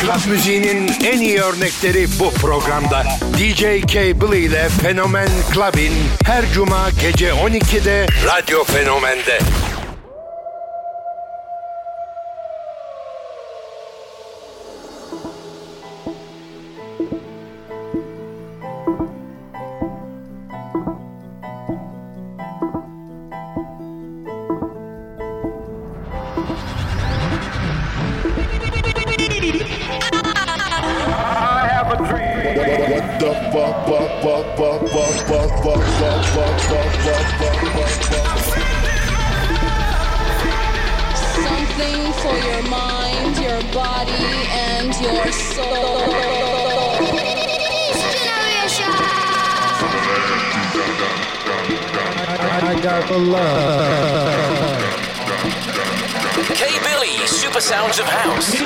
Club müziğinin en iyi örnekleri bu programda. DJ Cable ile Fenomen Club'in her cuma gece 12'de Radyo Fenomen'de. Something for your mind, your body, and your soul. I got the love. K Billy, Super Sounds of House.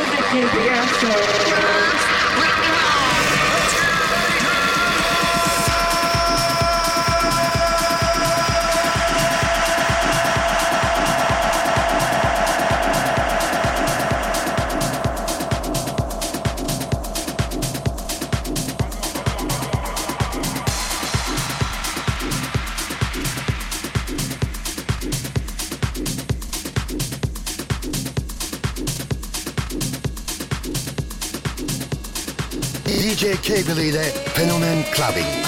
DJ Cable ile Fenomen Clubbing.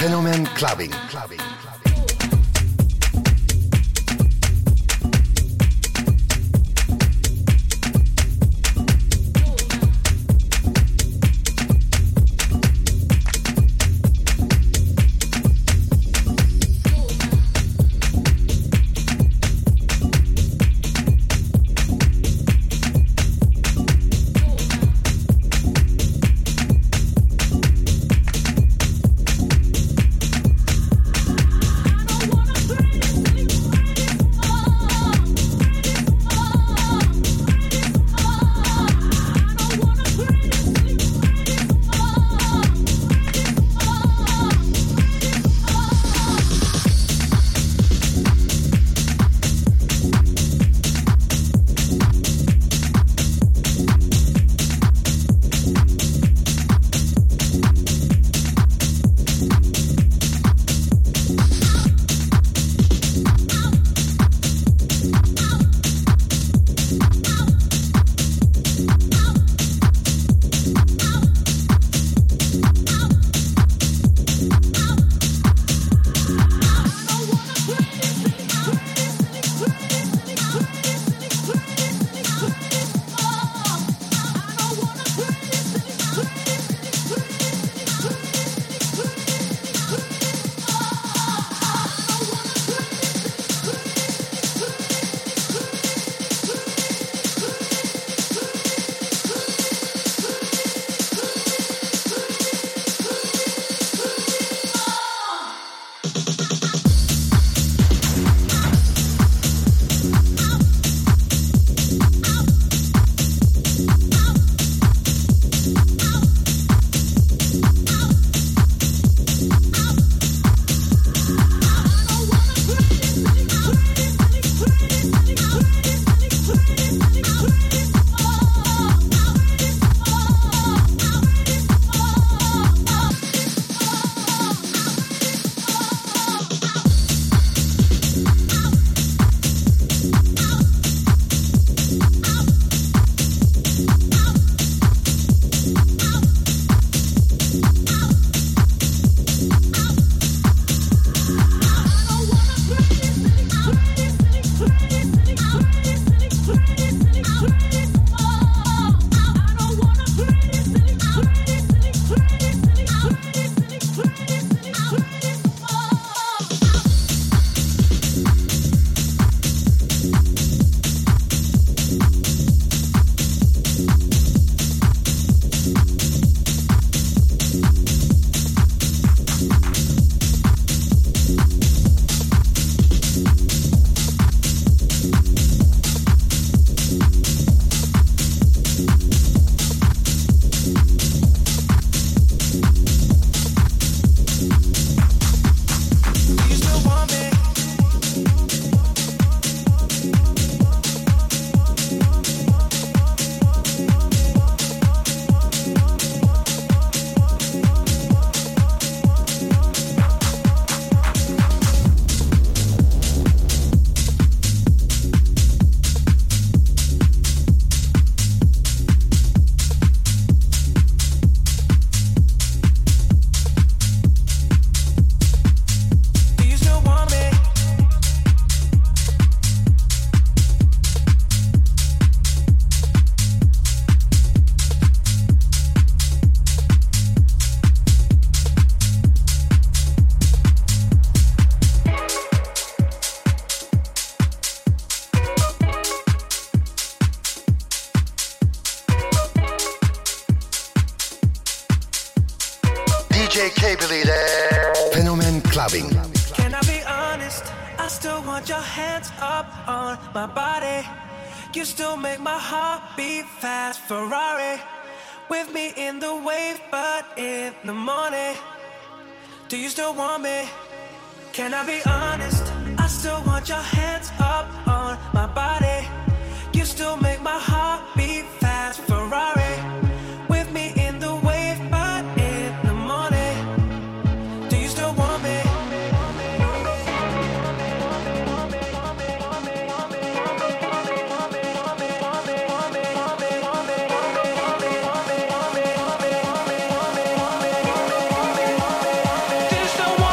Fenomen Clubbing. DJ Cable ile Fenomen Clubbing. Can I be honest? I still want your hands up on my body. You still make my heart beat fast. Ferrari with me in the wave, but in the morning. Do you still want me? Can I be honest? I still want your hands up on my body. You still make my heart beat fast. Ferrari with me in the wave, but in the morning. Do you still want me? Do you still want me?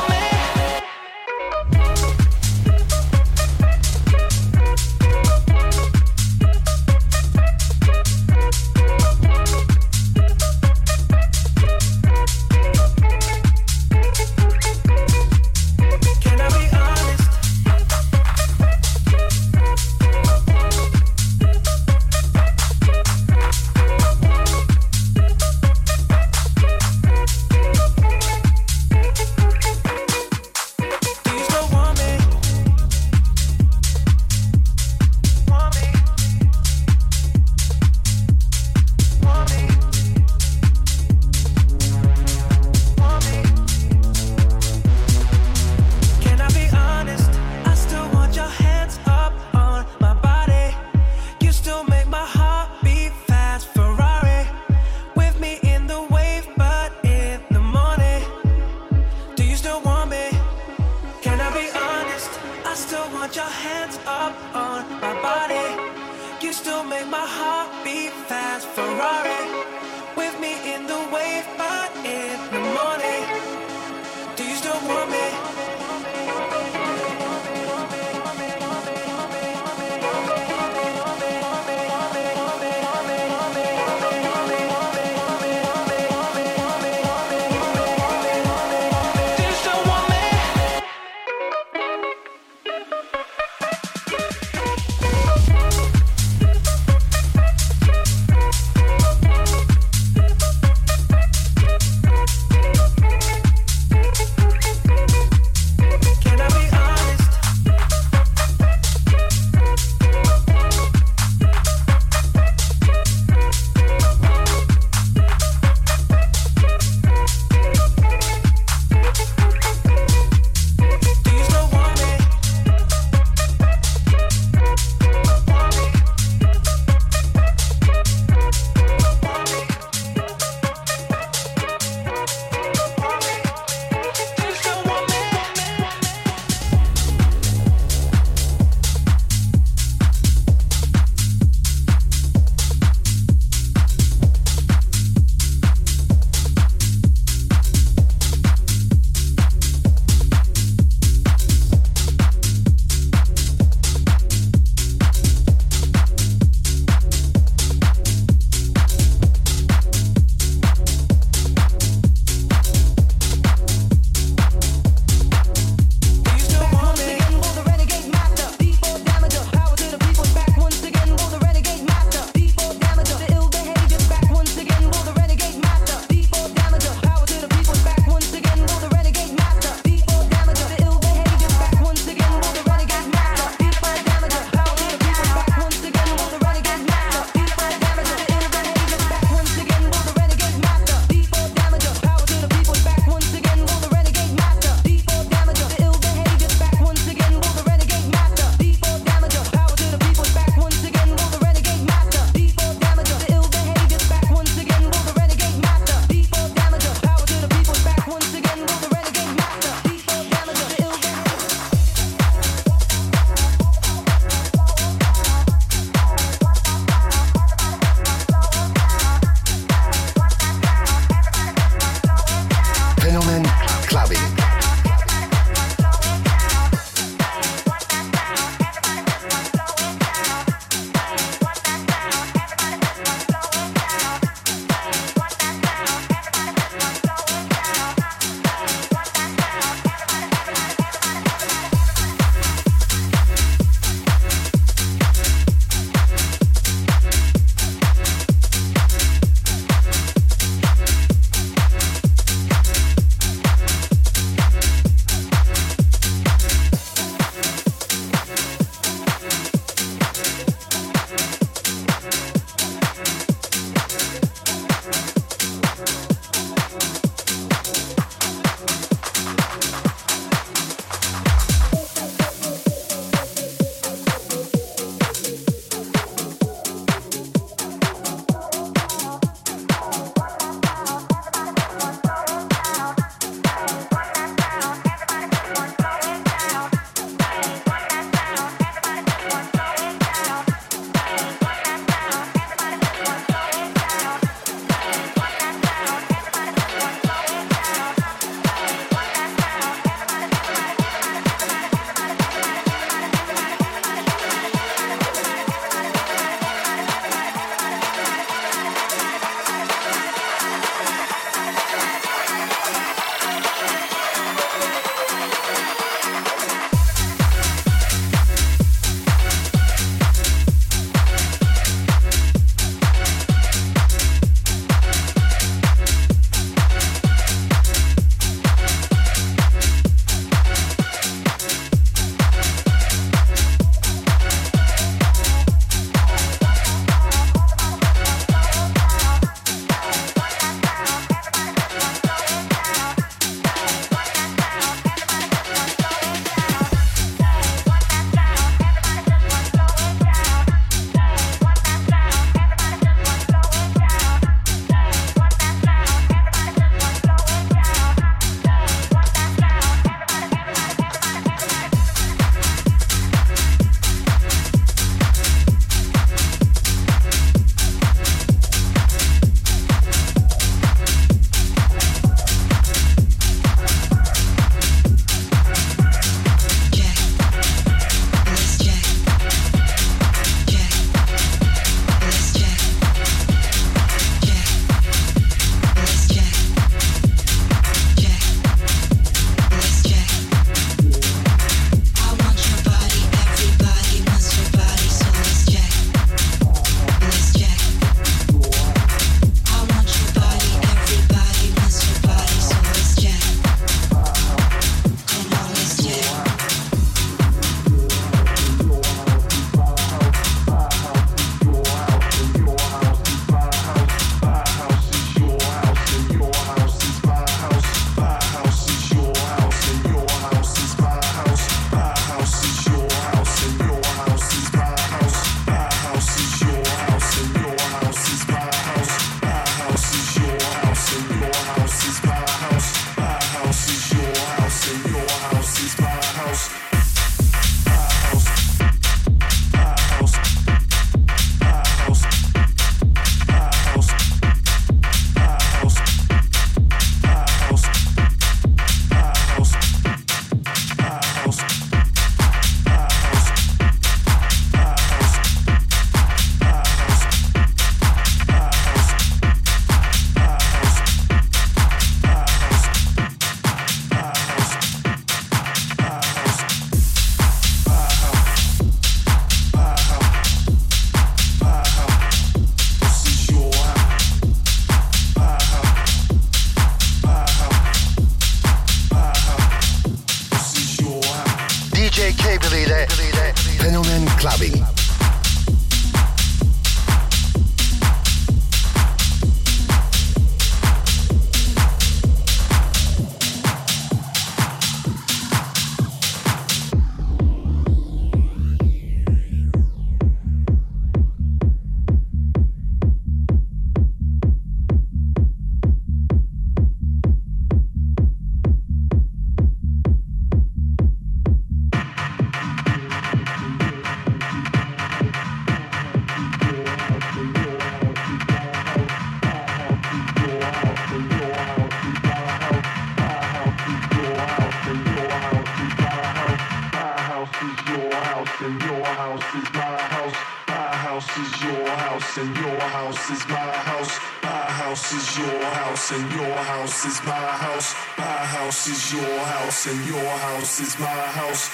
and your house is my house. My house is your house and your house is my house. My house is your house and your house is my house.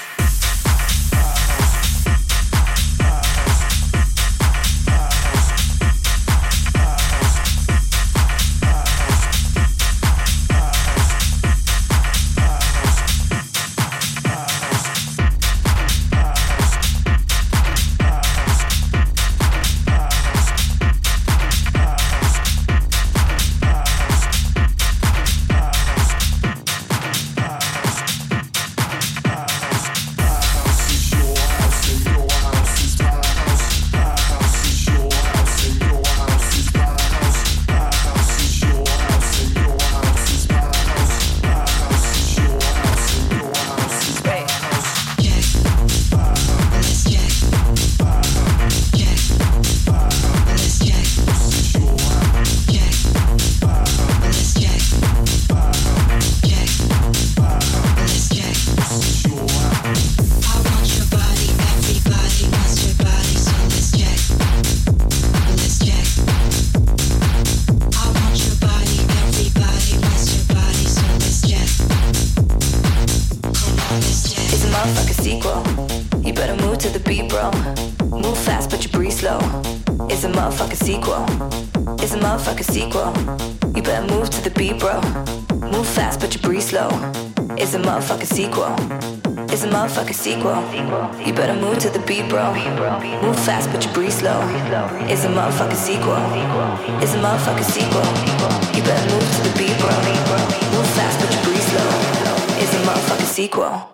Sequel. You better move to the beat, bro. Move fast, but you breathe slow. It's a motherfucking sequel. It's a motherfucking sequel. You better move to the beat, bro. Move fast, but you breathe slow. It's a motherfucking sequel.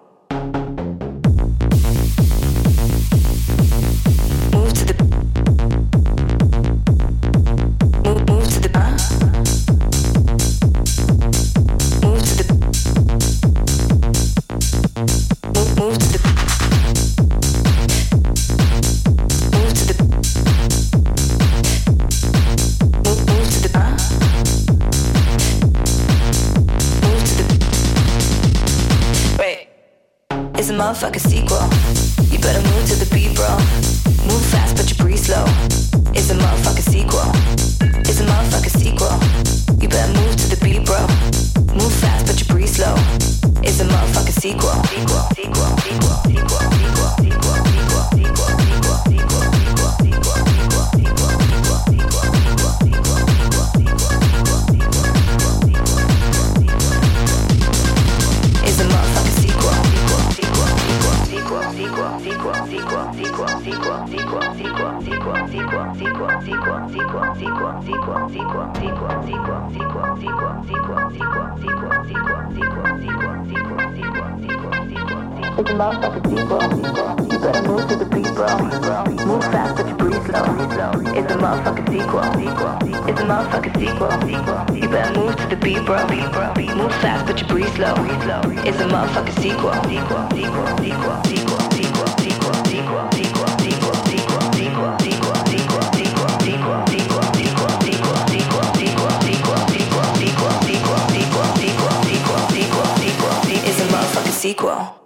Motherfucker sequel. You better move to the beat, bro. Move fast, but you breathe slow. It's a motherfucker sequel. It's a motherfucker sequel. You better move to the beat, bro. Move fast, but you breathe slow. It's a motherfucker sequel. Sequel. Sequel. Sequel. Sequel. Sequel. Sequel. Sequel. Sequel. Sequel. Sequel. It's a motherfucker sequel. It's a motherfucking sequel. You better move to the beat, bro. Move fast, but you breathe slow. It's a motherfucking sequel. It's a motherfucking sequel. You better move to the beat, bro. Move fast, but you breathe slow. It's a motherfucking sequel. It's a motherfucking sequel.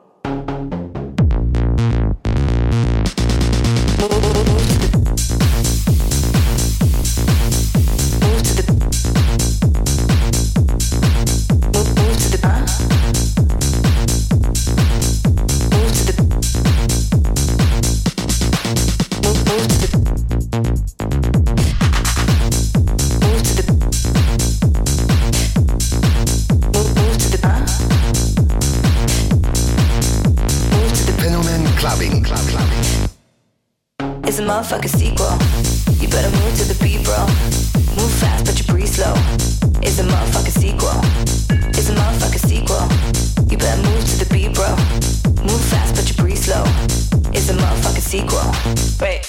It's a motherfucking sequel. You better move to the beat, bro. Move fast, but you breathe slow. It's a motherfucking sequel. It's a motherfucking sequel. You better move to the beat, bro. Move fast, but you breathe slow. It's a motherfucking sequel. Wait.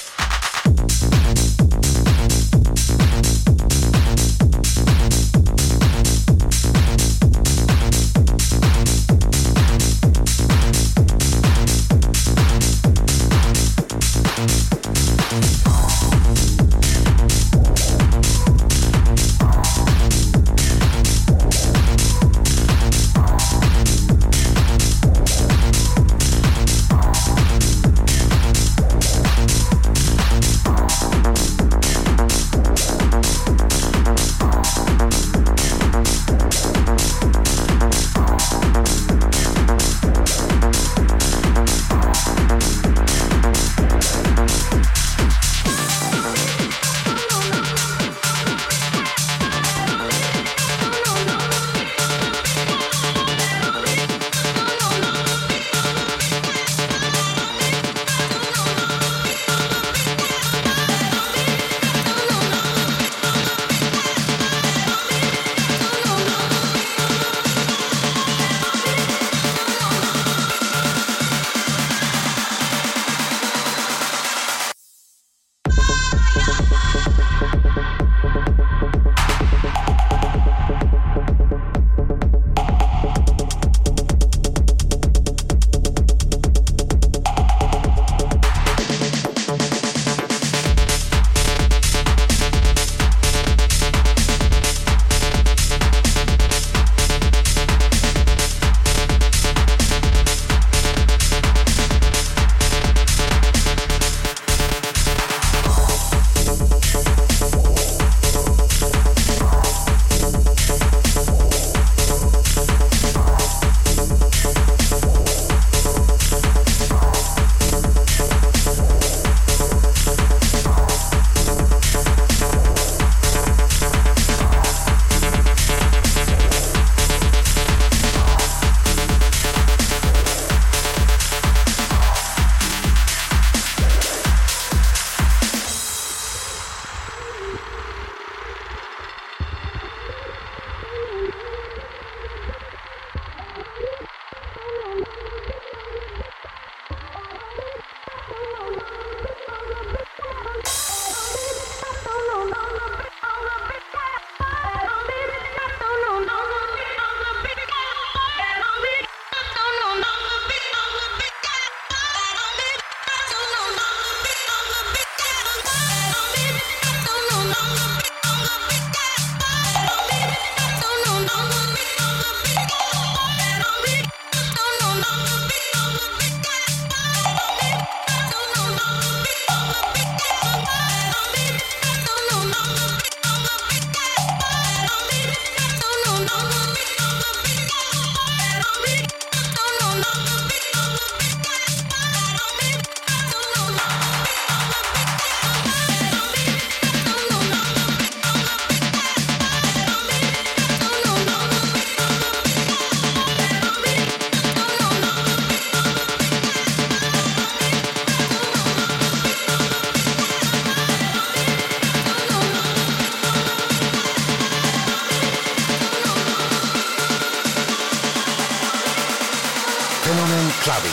Fenomen Clubbing.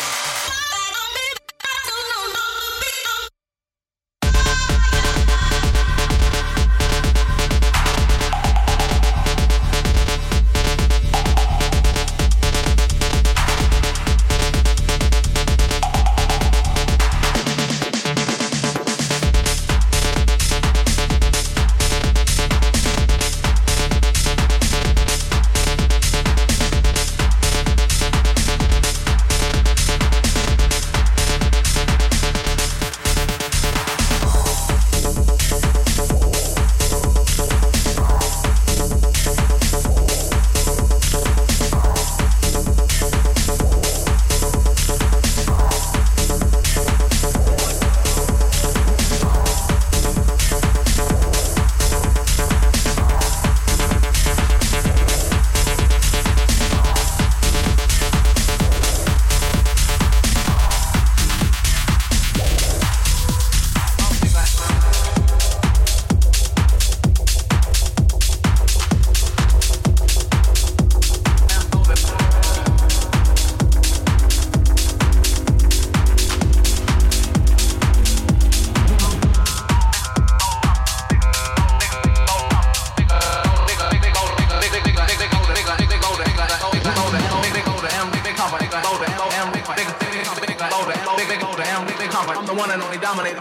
I'm the one and only dominator.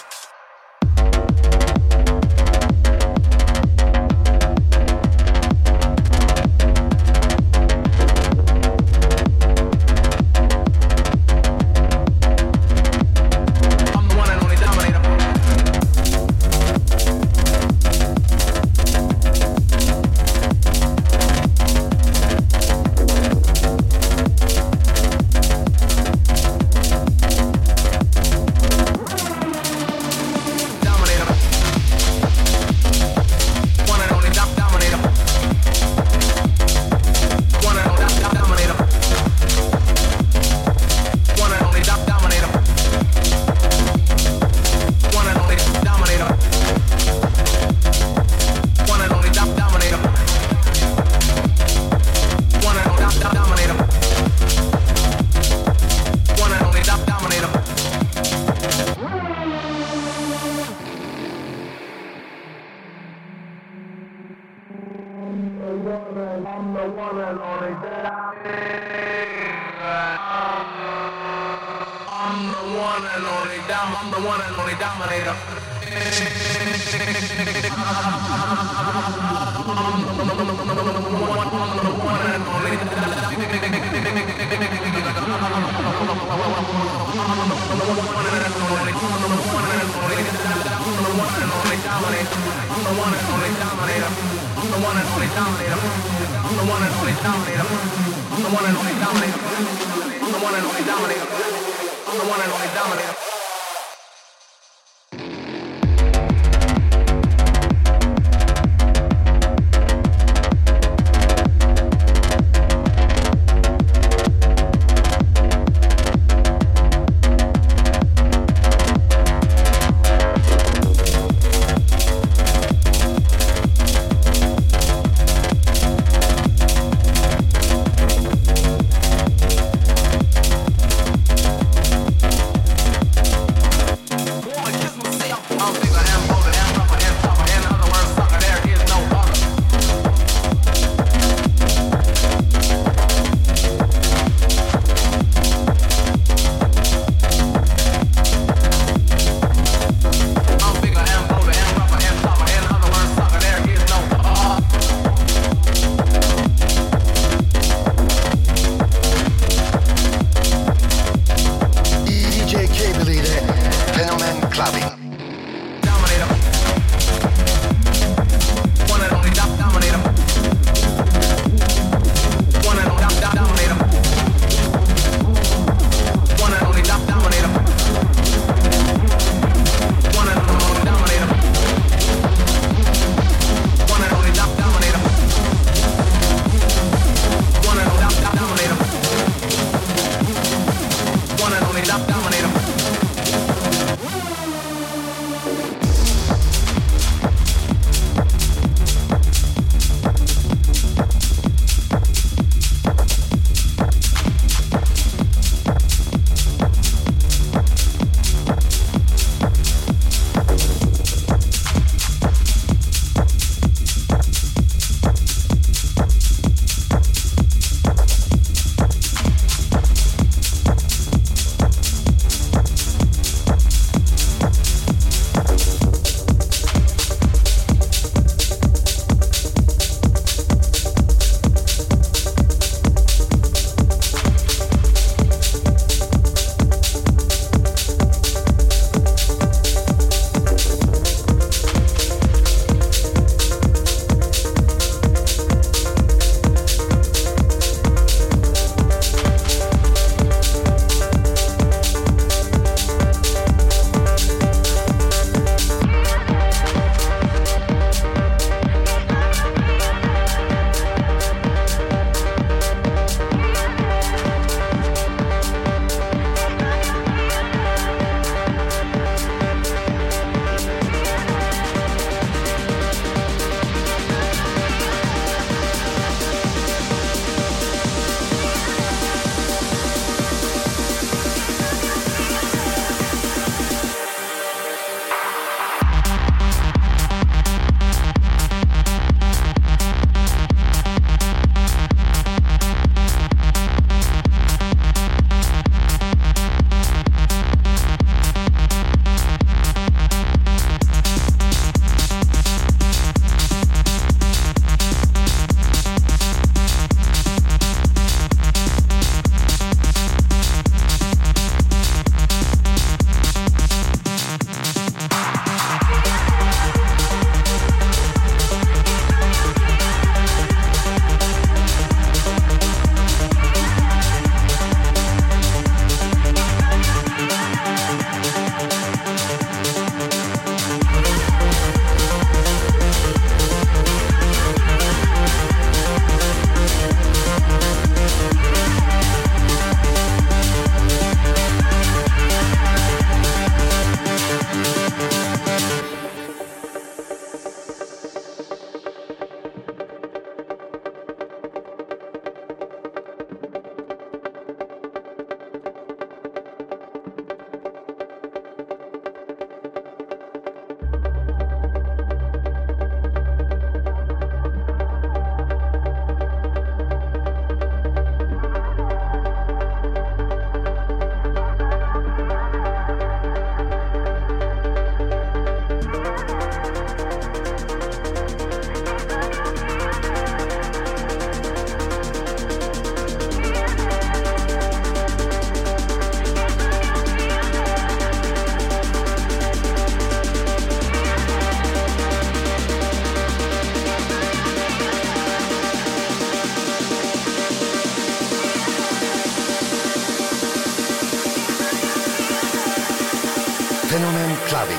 Fenomen Clubbing.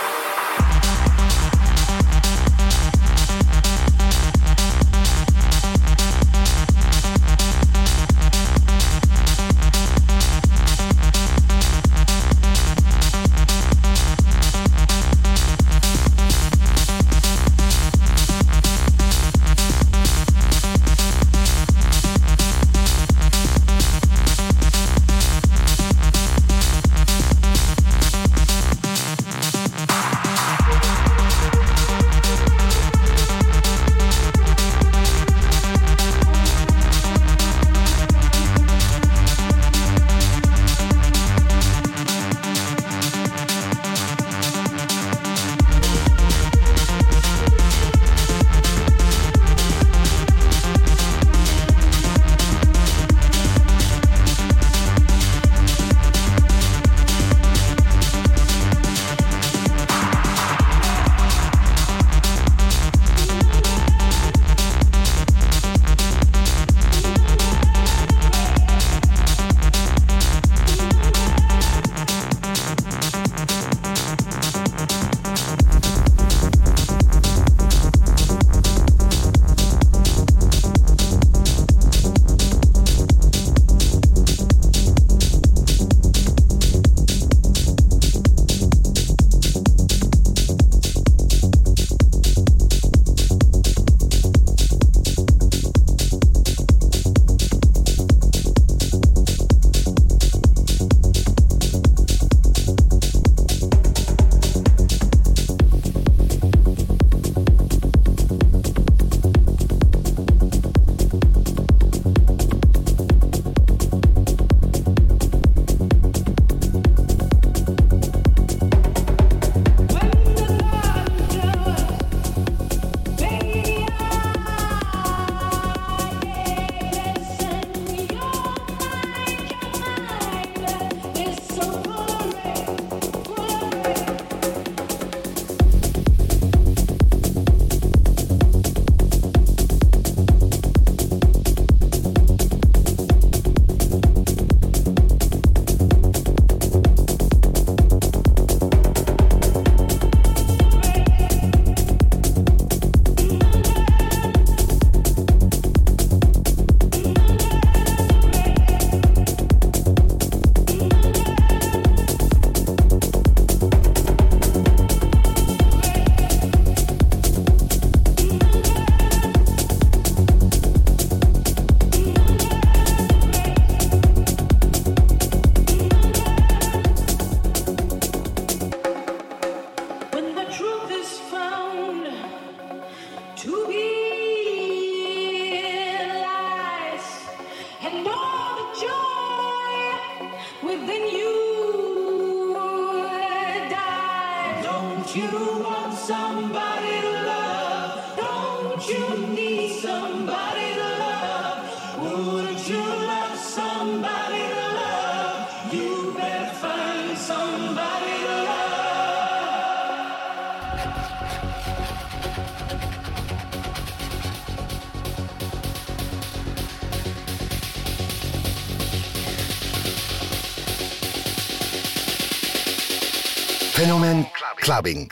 Fenomen Clubbing.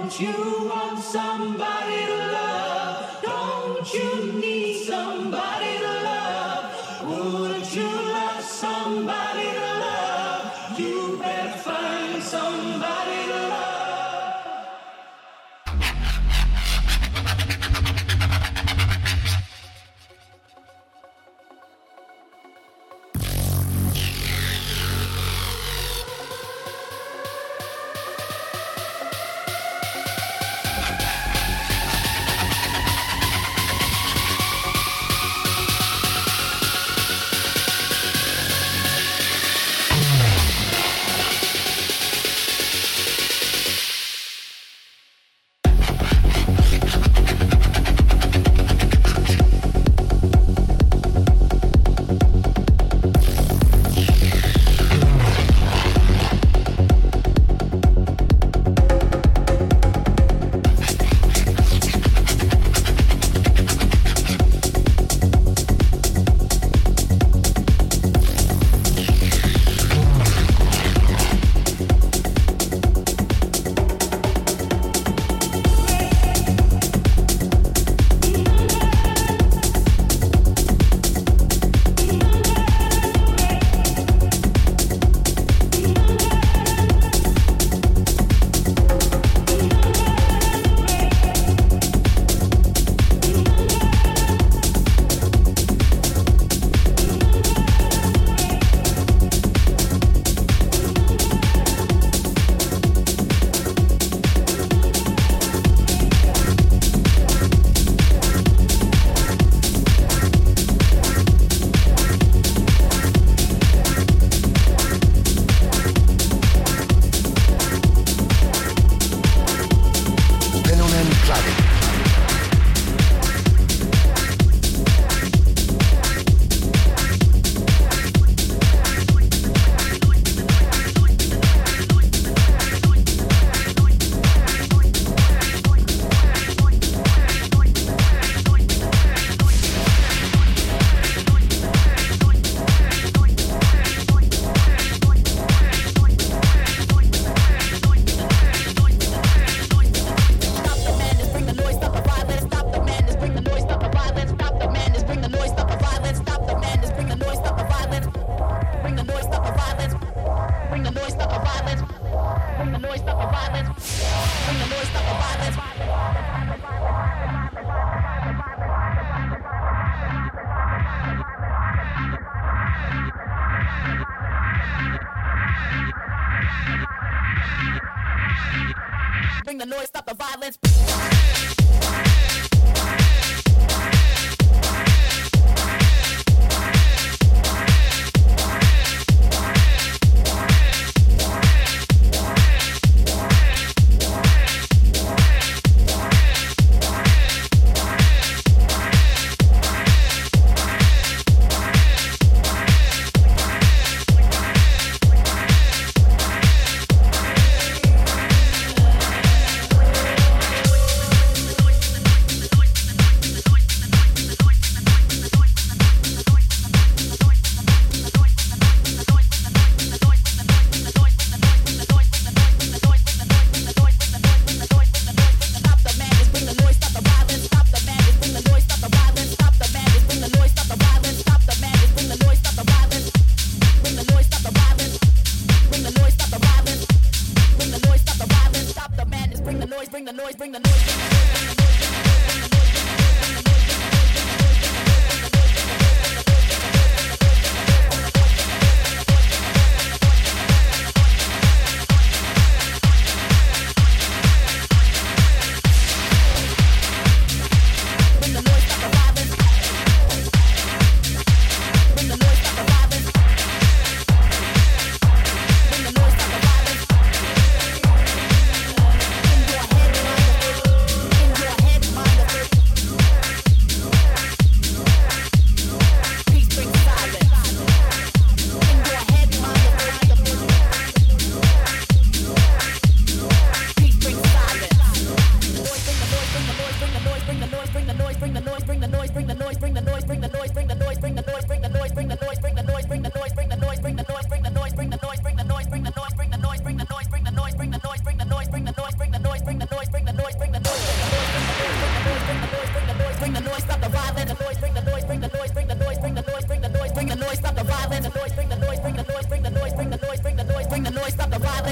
the noise, stop the violence.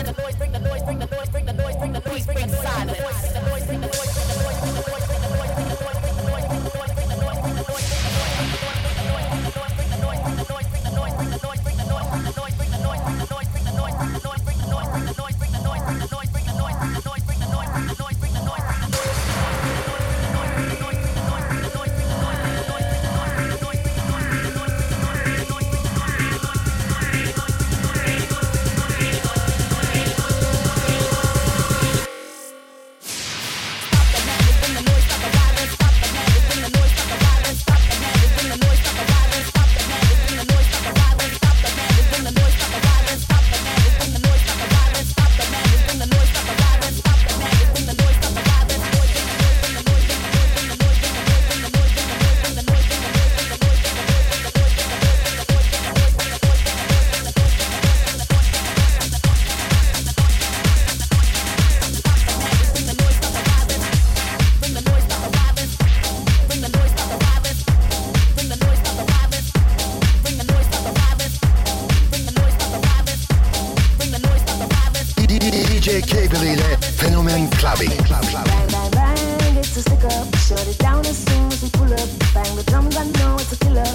DJ K-Billy ile Fenomen Clubbing. Bang, bang, bang, it's a stick up. Shut it down as soon as we pull up. Bang the drums, I know it's a killer.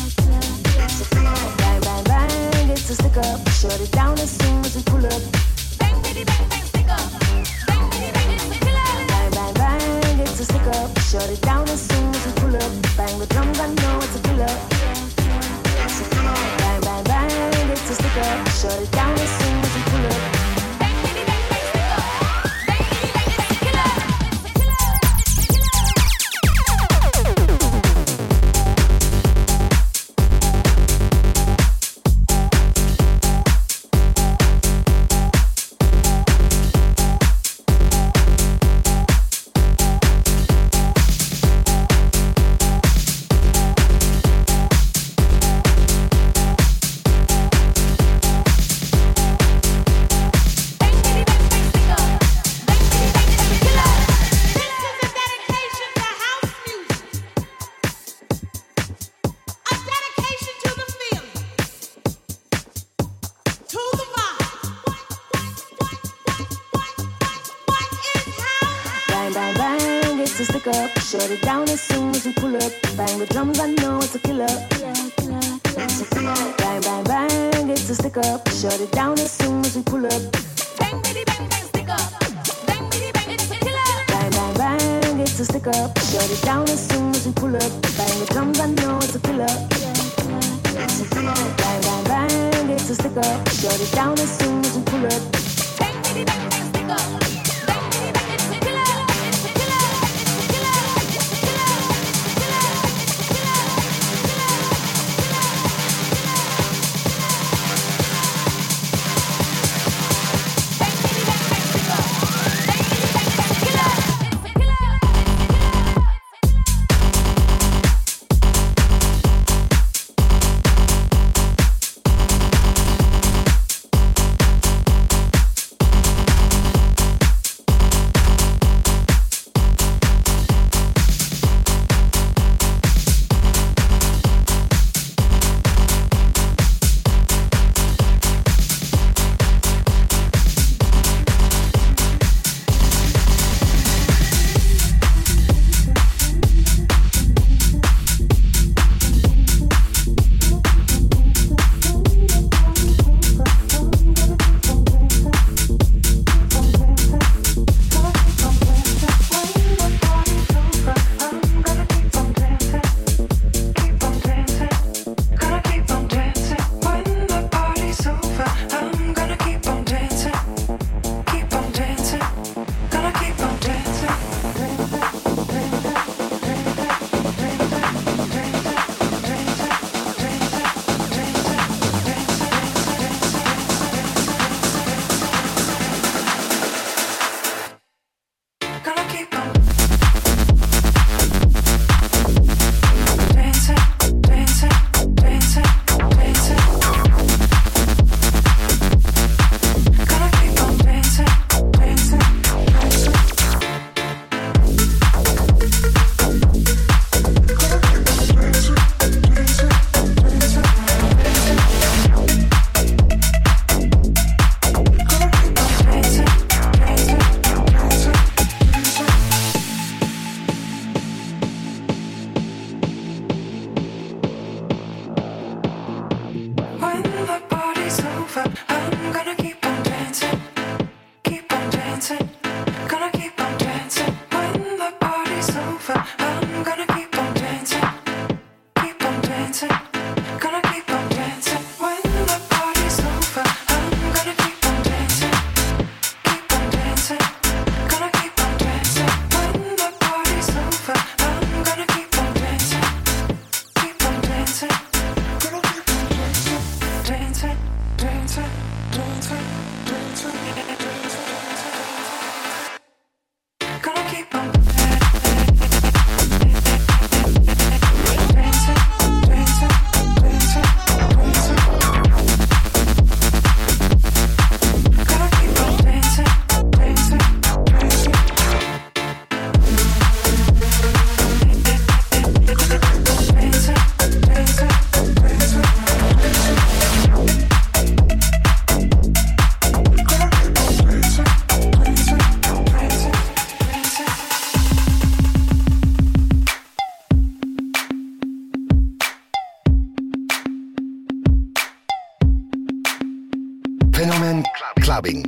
Bang, bang, bang, it's a stick up. Shut it down as soon as we pull up. Bang, bitty, bang, bang, stick up. Bang, bitty, bang, it's a killer. Bang, bang, bang, it's a stick up. Shut it down as soon as we pull up. Bang the drums, I know it's a killer. Bang, bang, bang, it's a stick up. Shut it down as soon as we pull up. Shut it down as soon as we pull up. Bang the drums, I know it's a killer. Bang, bang, bang, it's a stick up. Shut it down as soon as we pull up. Bang, bitty, bang, bang, stick up. Bang, bitty, bang, it's a killer. Bang, bang, bang, it's a stick up. Shut it down as soon as we pull up. Bang the drums, I know it's a killer. Bang, bang, bang, it's a stick up. Shut it down as soon as we pull up. Bang, bitty, bang, bang, stick up. the party's over, I'm gonna keep on dancing, keep on dancing, gonna keep on dancing. When the party's over, I'm gonna keep on dancing, keep on dancing, gonna keep on dancing. When the party's over, I'm gonna keep on dancing, keep on dancing, gonna keep on dancing. When the party's over, I'm gonna keep on dancing, keep on dancing, gonna keep on dancing, dancing, dancing, dancing, dancing, gonna keep on Fenomen Clubbing.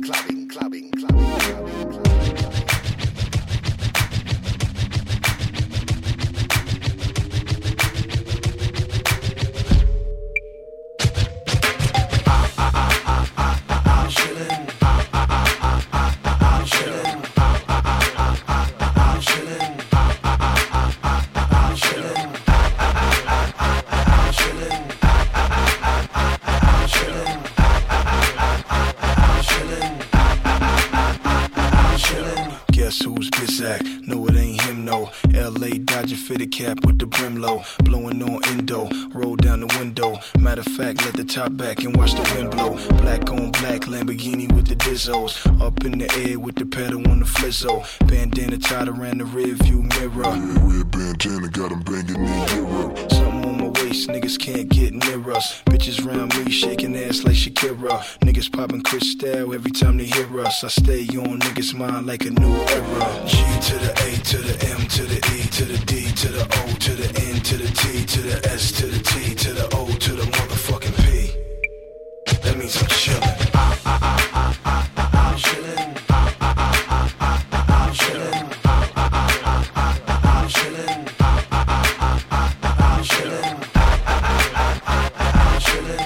No, it ain't him, no. LA Dodger fitted cap with the brim low. Blowing on endo, roll down the window. Matter of fact, let the top back and watch the wind blow. Black on black, Lamborghini with the Dizzos. Up in the air with the pedal on the flizzo. Bandana tied around the rear view mirror. Yeah, red bandana got him banging in Europe. Something on my waist, niggas can't get near us. Bitches round me, shaking ass like Shakira. Niggas popping Cristal every time they hear us. I stay on niggas' mind like a new era. G to the A to the M to the E to the D to the O to the N to the T to the S to the T to the O to the motherfucking P. That means I'm chillin'. I'm chillin'. I'm chillin'. I'm chillin'. I'm chillin'. I'm chillin'.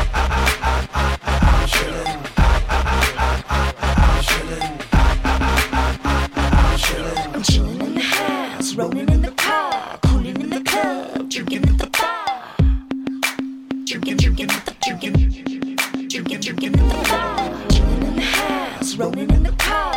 I'm chillin'. I'm chillin' in the house, rolling in the car, cooling in the club, drinking at the bar. Drinking at the bar. Chillin' in the house, rolling in the car,